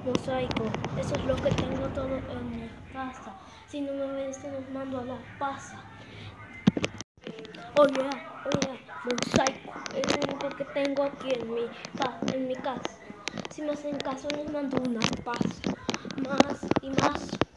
mosaico. Eso es lo que tengo todo en mi casa. Si no me obedecen, los mando a la pasa. Oye, mosaico. Es lo único que tengo aquí en mi casa. Si me hacen caso, les mando una pasa. Más y más.